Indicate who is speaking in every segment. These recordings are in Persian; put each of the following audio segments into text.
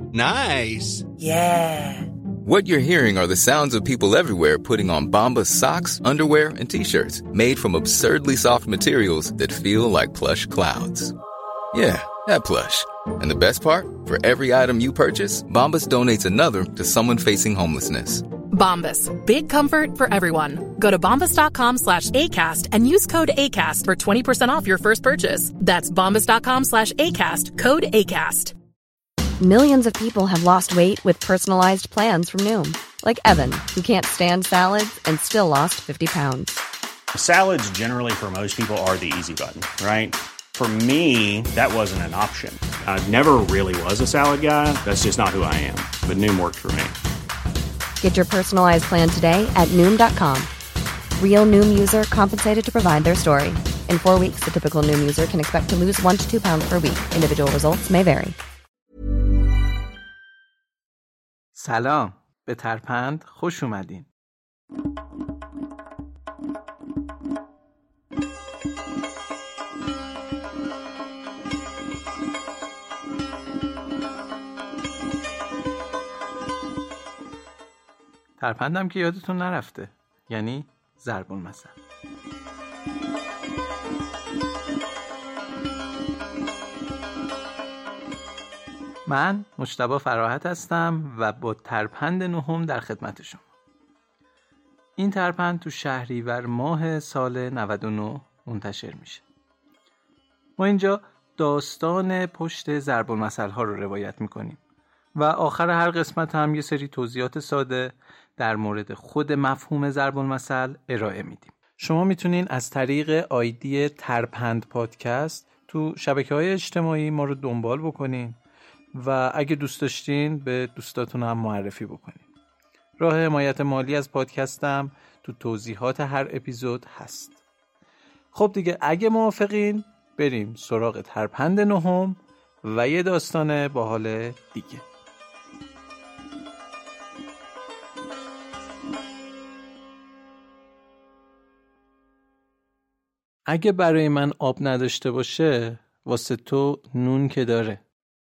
Speaker 1: Nice.
Speaker 2: Yeah.
Speaker 3: What you're hearing are the sounds of people everywhere putting on Bombas socks, underwear, and T-shirts made from absurdly soft materials that feel like plush clouds. Yeah, that plush. And the best part? For every item you purchase, Bombas donates another to someone facing homelessness.
Speaker 4: Bombas. Big comfort for everyone. Go to bombas.com/ACAST and use code ACAST for 20% off your first purchase. That's bombas.com/ACAST. Code ACAST.
Speaker 5: Millions of people have lost weight with personalized plans from Noom. Like Evan, who can't stand salads and still lost 50 pounds.
Speaker 6: Salads generally for most people are the easy button, right? For me, that wasn't an option. I never really was a salad guy. That's just not who I am. But Noom worked for me.
Speaker 5: Get your personalized plan today at Noom.com. Real Noom user compensated to provide their story. In 4 weeks, the typical Noom user can expect to lose 1 to 2 pounds per week. Individual results may vary.
Speaker 7: سلام، به ترپند خوش اومدین. ترپندم که یادتون نرفته، یعنی ضرب المثل. من مجتبی فراحت هستم و با ترپند نهم در خدمت شما. این ترپند تو شهریور ماه سال 99 منتشر میشه. ما اینجا داستان پشت ضرب المثل ها رو روایت میکنیم و آخر هر قسمت هم یه سری توضیحات ساده در مورد خود مفهوم ضرب المثل ارائه میدیم. شما میتونین از طریق آیدی ترپند پادکست تو شبکه‌های اجتماعی ما رو دنبال بکنین و اگه دوست داشتین به دوستاتون هم معرفی بکنین. راه حمایت مالی از پادکستم تو توضیحات هر اپیزود هست. خب دیگه اگه موافقین بریم سراغ ترپند نهم و یه داستان باحال دیگه. اگه برای من آب نداشته باشه واسه تو نون که داره.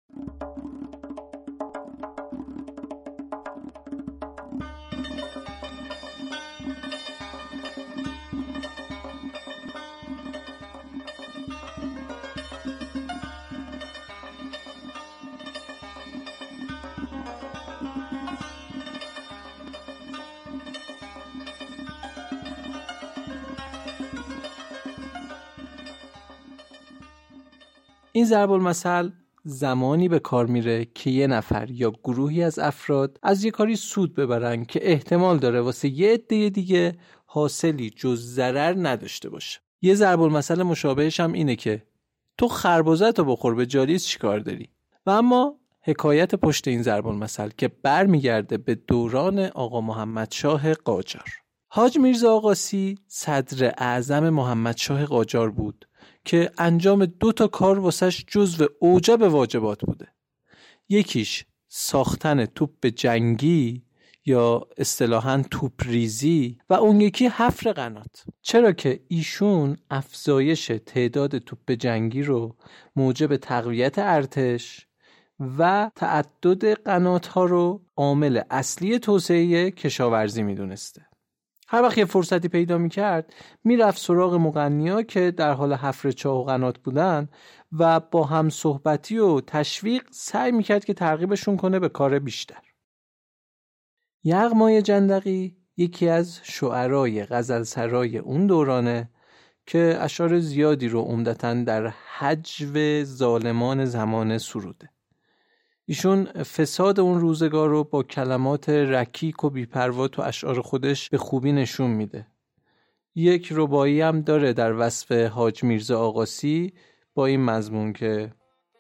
Speaker 7: این ضرب المثل زمانی به کار میره که یه نفر یا گروهی از افراد از یه کاری سود ببرن که احتمال داره واسه یه عده دیگه حاصلی جز ضرر نداشته باشه. یه ضرب المثل مشابهش هم اینه که تو خربزه‌تو بخور به جالیس چیکار داری؟ و اما حکایت پشت این ضرب المثل که برمیگرده به دوران آقا محمد شاه قاجار. حاج میرزا آقاسی صدر اعظم محمد شاه قاجار بود که انجام 2 کار واسش جزو اوجب واجبات بوده. یکیش ساختن توپ جنگی یا اصطلاحاً توپ ریزی و اون یکی حفر قنات. چرا که ایشون افزایش تعداد توپ جنگی رو موجب تقویت ارتش و تعدد قنات ها رو عامل اصلی توسعه کشاورزی میدونسته. هر وقت یه فرصتی پیدا میکرد میرفت سراغ مغنیا که در حال حفر چاه و قنات بودن و با هم صحبتی و تشویق سعی میکرد که ترغیبشون کنه به کار بیشتر. یغمای جندقی یکی از شعرای غزلسرای اون دورانه که اشعار زیادی رو عمدتاً در هجو ظالمان زمانه سروده. ایشون فساد اون روزگار رو با کلمات رکیک و بی‌پروا تو اشعار خودش به خوبی نشون میده. یک رباعی هم داره در وصف حاج میرزا آقاسی با این مضمون که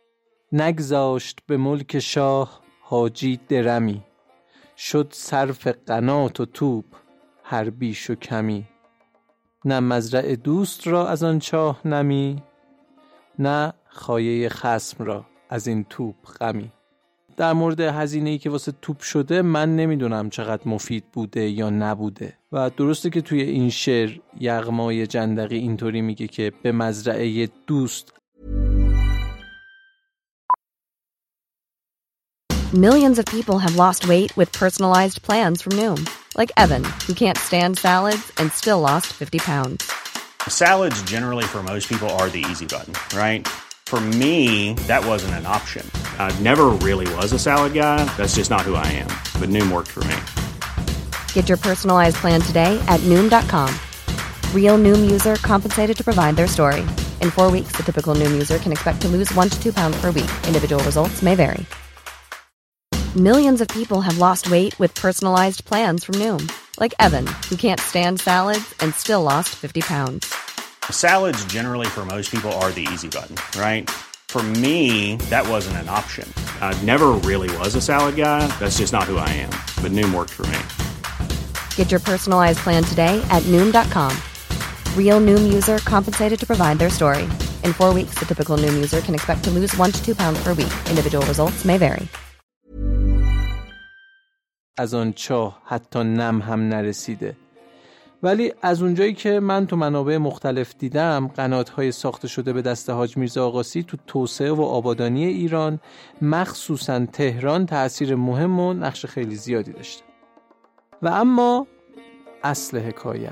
Speaker 7: نگذاشت به ملک شاه حاجی درمی، شد صرف قنات و توپ هر بیش و کمی، نه مزرع دوست را از آن چاه نمی، نه خایه خصم را از این توپ غمی. در مورد هزینه‌ای که واسه توپ شده من نمیدونم چقدر مفید بوده یا نبوده و درسته که توی این شعر یغمای جندقی اینطوری میگه که به مزرعه دوست.
Speaker 5: Millions of people have lost weight with personalized plans from Noom. Like Evan, who can't stand salads and still lost 50 pounds.
Speaker 6: Salads generally for most people are the easy button, right? For me, that wasn't an option. I never really was a salad guy. That's just not who I am. But Noom worked for me.
Speaker 5: Get your personalized plan today at Noom.com. Real Noom user compensated to provide their story. In 4 weeks, the typical Noom user can expect to lose 1 to 2 pounds per week. Individual results may vary. Millions of people have lost weight with personalized plans from Noom. Like Evan, who can't stand salads and still lost 50 pounds.
Speaker 6: Salads generally for most people are the easy button, right? For me, that wasn't an option. I never really was a salad guy. That's just not who I am. But Noom worked for me.
Speaker 5: Get your personalized plan today at Noom.com. Real Noom user compensated to provide their story. In 4 weeks, the typical Noom user can expect to lose 1 to 2 pounds per week. Individual results may vary.
Speaker 7: از آن چاه حتی نم هم نرسیده. ولی از اونجایی که من تو منابع مختلف دیدم، قنات‌های ساخته شده به دست حاج میرزا آقاسی تو توسعه و آبادانی ایران، مخصوصاً تهران، تأثیر مهم و نقش خیلی زیادی داشته. و اما اصل حکایت.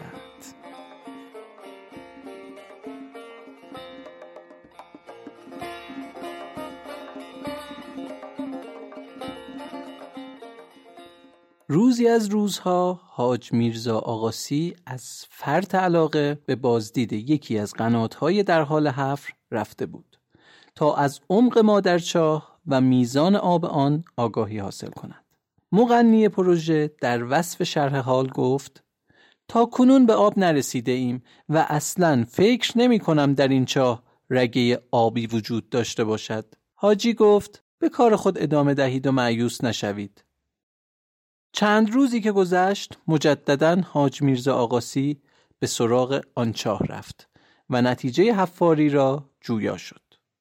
Speaker 7: روزی از روزها حاج میرزا آقاسی از فرط علاقه به بازدید یکی از قنات‌های در حال حفر رفته بود تا از عمق مادرچاه و میزان آب آن آگاهی حاصل کند. مغنی پروژه در وصف شرح حال گفت: تا کنون به آب نرسیده ایم و اصلاً فکر نمی کنم در این چاه رگه آبی وجود داشته باشد. حاجی گفت: به کار خود ادامه دهید و مایوس نشوید. چند روزی که گذشت، مجدداً حاج میرزا آقاسی به سراغ آن چاه رفت و نتیجه حفاری را جویا شد.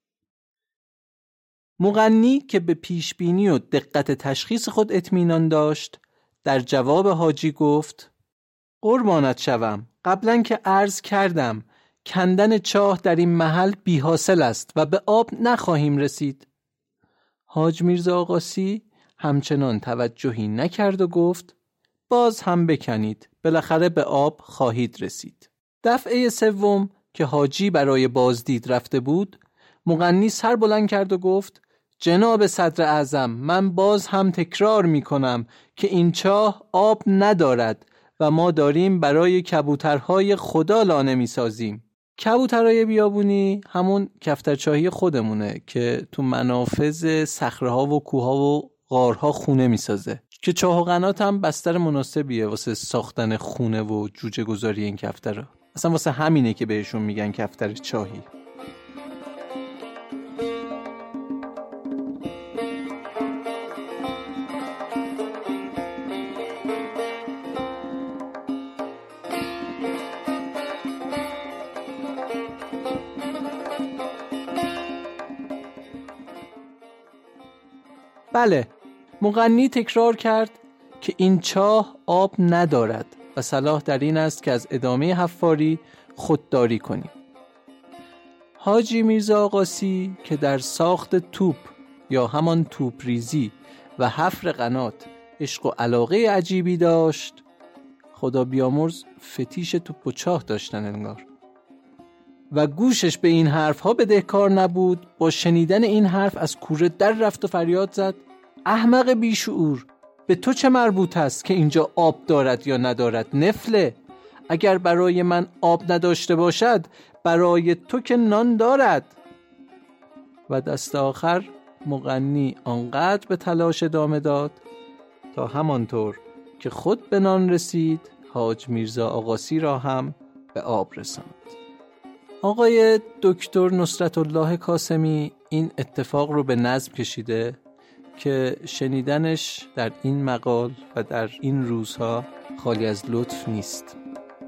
Speaker 7: مغنی که به پیشبینی و دقت تشخیص خود اطمینان داشت، در جواب حاجی گفت: قربانت شوم، قبلا که عرض کردم کندن چاه در این محل بی حاصل است و به آب نخواهیم رسید. حاج میرزا آقاسی همچنان توجهی نکرد و گفت: باز هم بکنید، بالاخره به آب خواهید رسید. دفعه سوم که حاجی برای بازدید رفته بود، مغنی سر بلند کرد و گفت: جناب صدر اعظم، من باز هم تکرار می کنم که این چاه آب ندارد و ما داریم برای کبوترهای خدا لانه می سازیم. کبوترهای بیابونی همون کفترچاهی خودمونه که تو منافذ صخره‌ها و کوه‌ها و غارها خونه می سازه، که چاه و قنات هم بستر مناسبیه واسه ساختن خونه و جوجه گذاری این کفترها. اصلا واسه همینه که بهشون میگن کفتر چاهی. بله، مغنی تکرار کرد که این چاه آب ندارد و صلاح در این است که از ادامه حفاری خودداری کنیم. حاجی میرزا آقاسی که در ساخت توپ یا همان توپ ریزی و حفر قنات عشق و علاقه عجیبی داشت، خدا بیامرز فتیش توپ و چاه داشتن انگار، و گوشش به این حرف ها بدهکار نبود، با شنیدن این حرف از کوره در رفت و فریاد زد: احمق بیشعور، به تو چه مربوط است که اینجا آب دارد یا ندارد؟ نفله، اگر برای من آب نداشته باشد، برای تو که نان دارد. و دست آخر مغنی آنقدر به تلاش ادامه داد تا همانطور که خود به نان رسید، حاج میرزا آقاسی را هم به آب رساند. آقای دکتر نصرت الله کاسمی این اتفاق رو به نظم کشیده که شنیدنش در این مقال و در این روزها خالی از لطف نیست.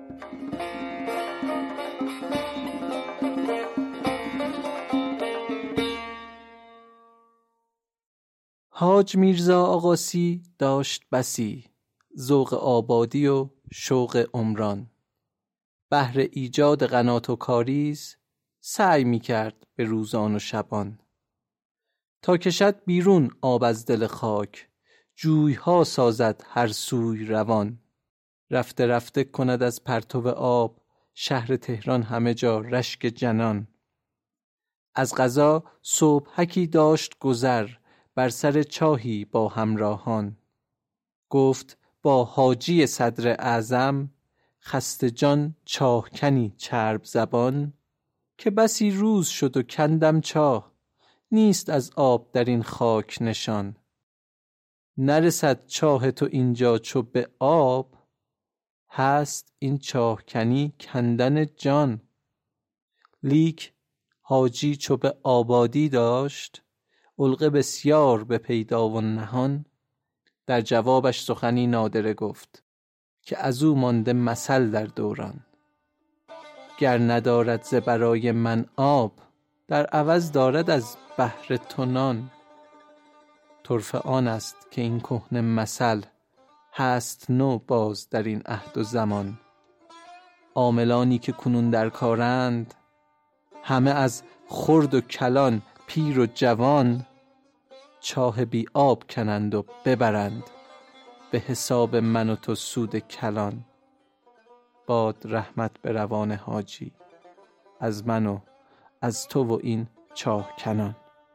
Speaker 7: حاج میرزا آقاسی داشت بسی ذوق آبادی و شوق عمران. بهر ایجاد قنات و کاریز سعی می کرد به روزان و شبان، تا کشد بیرون آب از دل خاک، جویها سازد هر سوی روان. رفته رفته کند از پرتو آب، شهر تهران همه جا رشک جنان. از قضا صبحکی داشت گذر، بر سر چاهی با همراهان. گفت با حاجی صدر اعظم، خسته جان چاه کنی چرب زبان. که بسی روز شد و کندم چاه، نیست از آب در این خاک نشان. نرسد چاه تو اینجا چو به آب، هست این چاه کنی کندن جان. لیک حاجی چو به آبادی داشت، علقه بسیار به پیدا و نهان. در جوابش سخنی نادره گفت، که از او مانده مثل در دوران. گر ندارد ز برای من آب، در عوض دارد از بحر تو نان. طرفه آن است که این کهنه مثل، هست نو باز در این عهد و زمان. عاملانی که کنون در کارند، همه از خرد و کلان پیر و جوان. چاه بی آب کنند و ببرند، به حساب من و تو سود کلان. باد رحمت به روان حاجی، از من و از تو و این چاه کنان.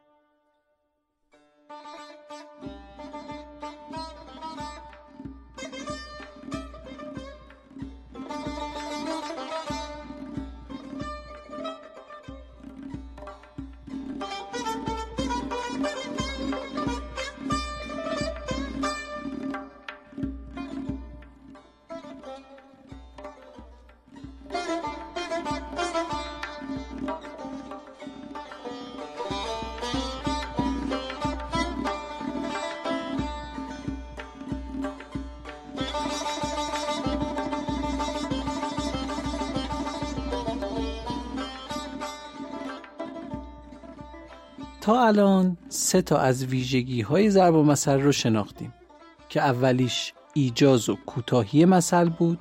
Speaker 7: تا الان 3 تا از ویژگی‌های ضرب المثل رو شناختیم که اولیش ایجاز و کوتاهی مثل بود،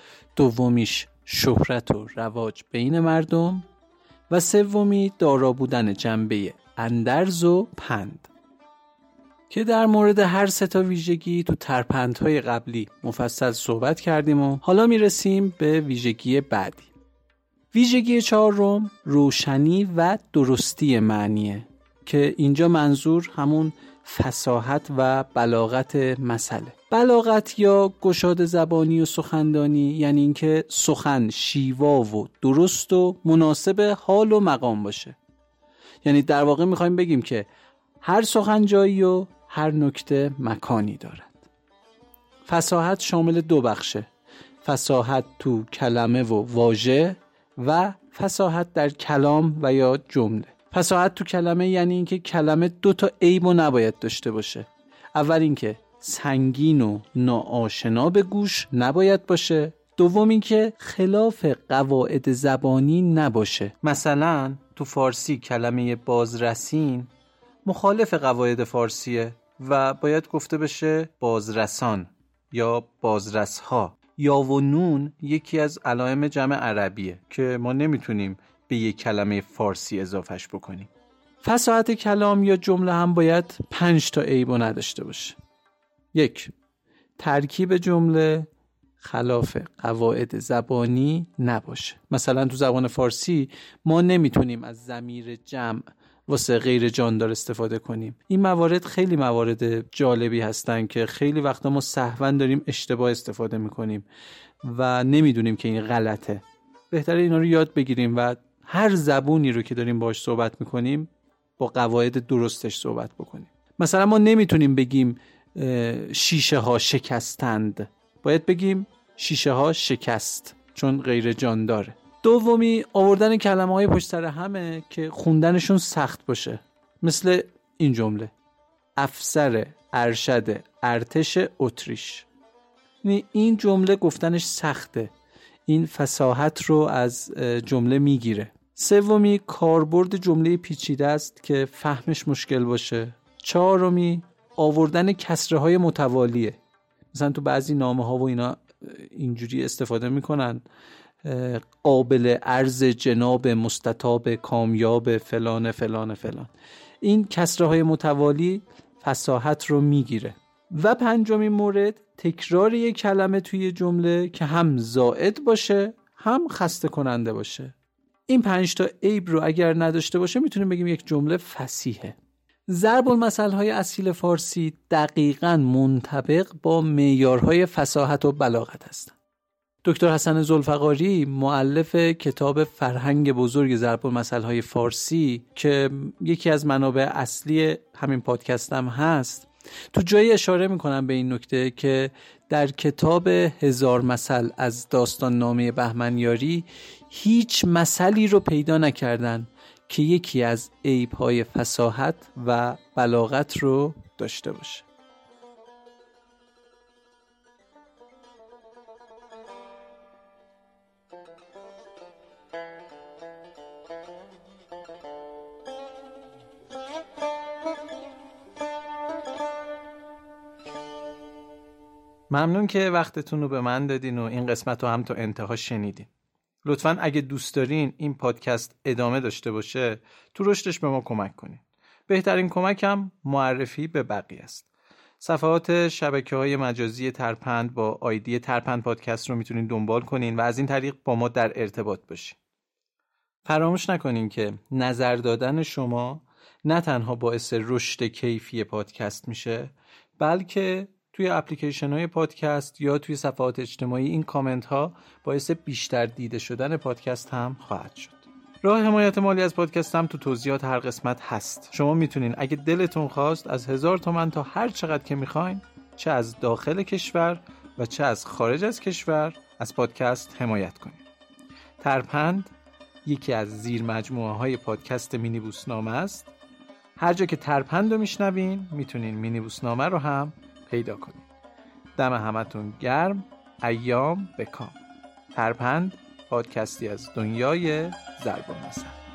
Speaker 7: دومیش شهرت و رواج بین مردم و سومی دارا بودن جنبه اندرز و پند. که در مورد هر 3 تا ویژگی تو ترپندهای قبلی مفصل صحبت کردیم و حالا میرسیم به ویژگی بعدی. ویژگی 4 روشنی و درستی معنیه که اینجا منظور همون فصاحت و بلاغت مثله. بلاغت یا گشاد زبانی و سخندانی یعنی اینکه سخن شیوا و درست و مناسب حال و مقام باشه. یعنی در واقع میخوایم بگیم که هر سخن جایی و هر نکته مکانی دارد. فصاحت شامل 2 بخشه، فصاحت تو کلمه و واژه و فصاحت در کلام و یا جمله. فصاحت تو کلمه یعنی اینکه کلمه 2 تا عیبو نباید داشته باشه. اول اینکه سنگین و ناآشنا به گوش نباید باشه، دوم اینکه خلاف قواعد زبانی نباشه. مثلا تو فارسی کلمه بازرسین مخالف قواعد فارسیه و باید گفته بشه بازرسان یا بازرسها. یا و نون یکی از علائم جمع عربیه که ما نمیتونیم به یک کلمه فارسی اضافهش بکنیم. فصاحت کلام یا جمله هم باید 5 تا عیبو نداشته باشه. 1. ترکیب جمله خلاف قواعد زبانی نباشه. مثلا تو زبان فارسی ما نمیتونیم از ضمیر جمع واسه غیر جاندار استفاده کنیم. این موارد خیلی موارد جالبی هستن که خیلی وقتا ما سهواً داریم اشتباه استفاده میکنیم و نمیدونیم که این غلطه. بهتره اینا رو یاد بگیریم و هر زبونی رو که داریم باهاش صحبت میکنیم با قواعد درستش صحبت بکنیم. مثلا ما نمیتونیم بگیم شیشه ها شکستند، باید بگیم شیشه ها شکست، چون غیر جان داره. دومی آوردن کلمه های پشت سر همه که خوندنشون سخت باشه، مثل این جمله: افسر ارشد ارتش اتریش. این جمله گفتنش سخته، این فصاحت رو از جمله میگیره. سومی کاربرد جمله پیچیده است که فهمش مشکل باشه. چهارمی آوردن کسره های متوالیه. مثلا تو بعضی نامه ها و اینا اینجوری استفاده میکنن: قابل عرض جناب مستطاب کامیاب فلان فلان فلان. این کسره‌های متوالی فصاحت رو میگیره. و پنجمین مورد، تکرار یک کلمه توی جمله که هم زائد باشه هم خسته کننده باشه. این 5 تا عیب رو اگر نداشته باشه میتونیم بگیم یک جمله فصیحه. ضرب المثل‌های اصیل فارسی دقیقاً منطبق با معیارهای فصاحت و بلاغت هستند. دکتر حسن ذوالفقاری مؤلف کتاب فرهنگ بزرگ ضرب المثل‌های فارسی که یکی از منابع اصلی همین پادکستم هست، تو جایی اشاره میکنم به این نکته که در کتاب 1000 مثل از داستان نامه بهمنیاری هیچ مثلی رو پیدا نکردن که یکی از عیب‌های فصاحت و بلاغت رو داشته باشه. ممنون که وقتتون رو به من دادین و این قسمت رو هم تا انتها شنیدین. لطفاً اگه دوست دارین این پادکست ادامه داشته باشه تو رشدش به ما کمک کنین. بهترین کمک هم معرفی به بقیه است. صفحات شبکه‌های مجازی ترپند با آیدی ترپند پادکست رو میتونین دنبال کنین و از این طریق با ما در ارتباط باشین. فراموش نکنین که نظر دادن شما نه تنها باعث رشد کیفی پادکست میشه، بلکه توی اپلیکیشن های پادکست یا توی صفحات اجتماعی این کامنت ها باعث بیشتر دیده شدن پادکست هم خواهد شد. راه حمایت مالی از پادکست هم تو توضیحات هر قسمت هست. شما میتونین اگه دلتون خواست از 1000 تومان تا هر چقدر که میخواین، چه از داخل کشور و چه از خارج از کشور، از پادکست حمایت کنین. ترپند یکی از زیر مجموعه های پادکست مینیبوسنامه است. هر جا که ترپند رو میشنوین میتونین مینیبوسنامه رو هم پیدا کنید. دم همتون گرم. ایام بکام. ترپند، پادکستی از دنیای ضرب المثل.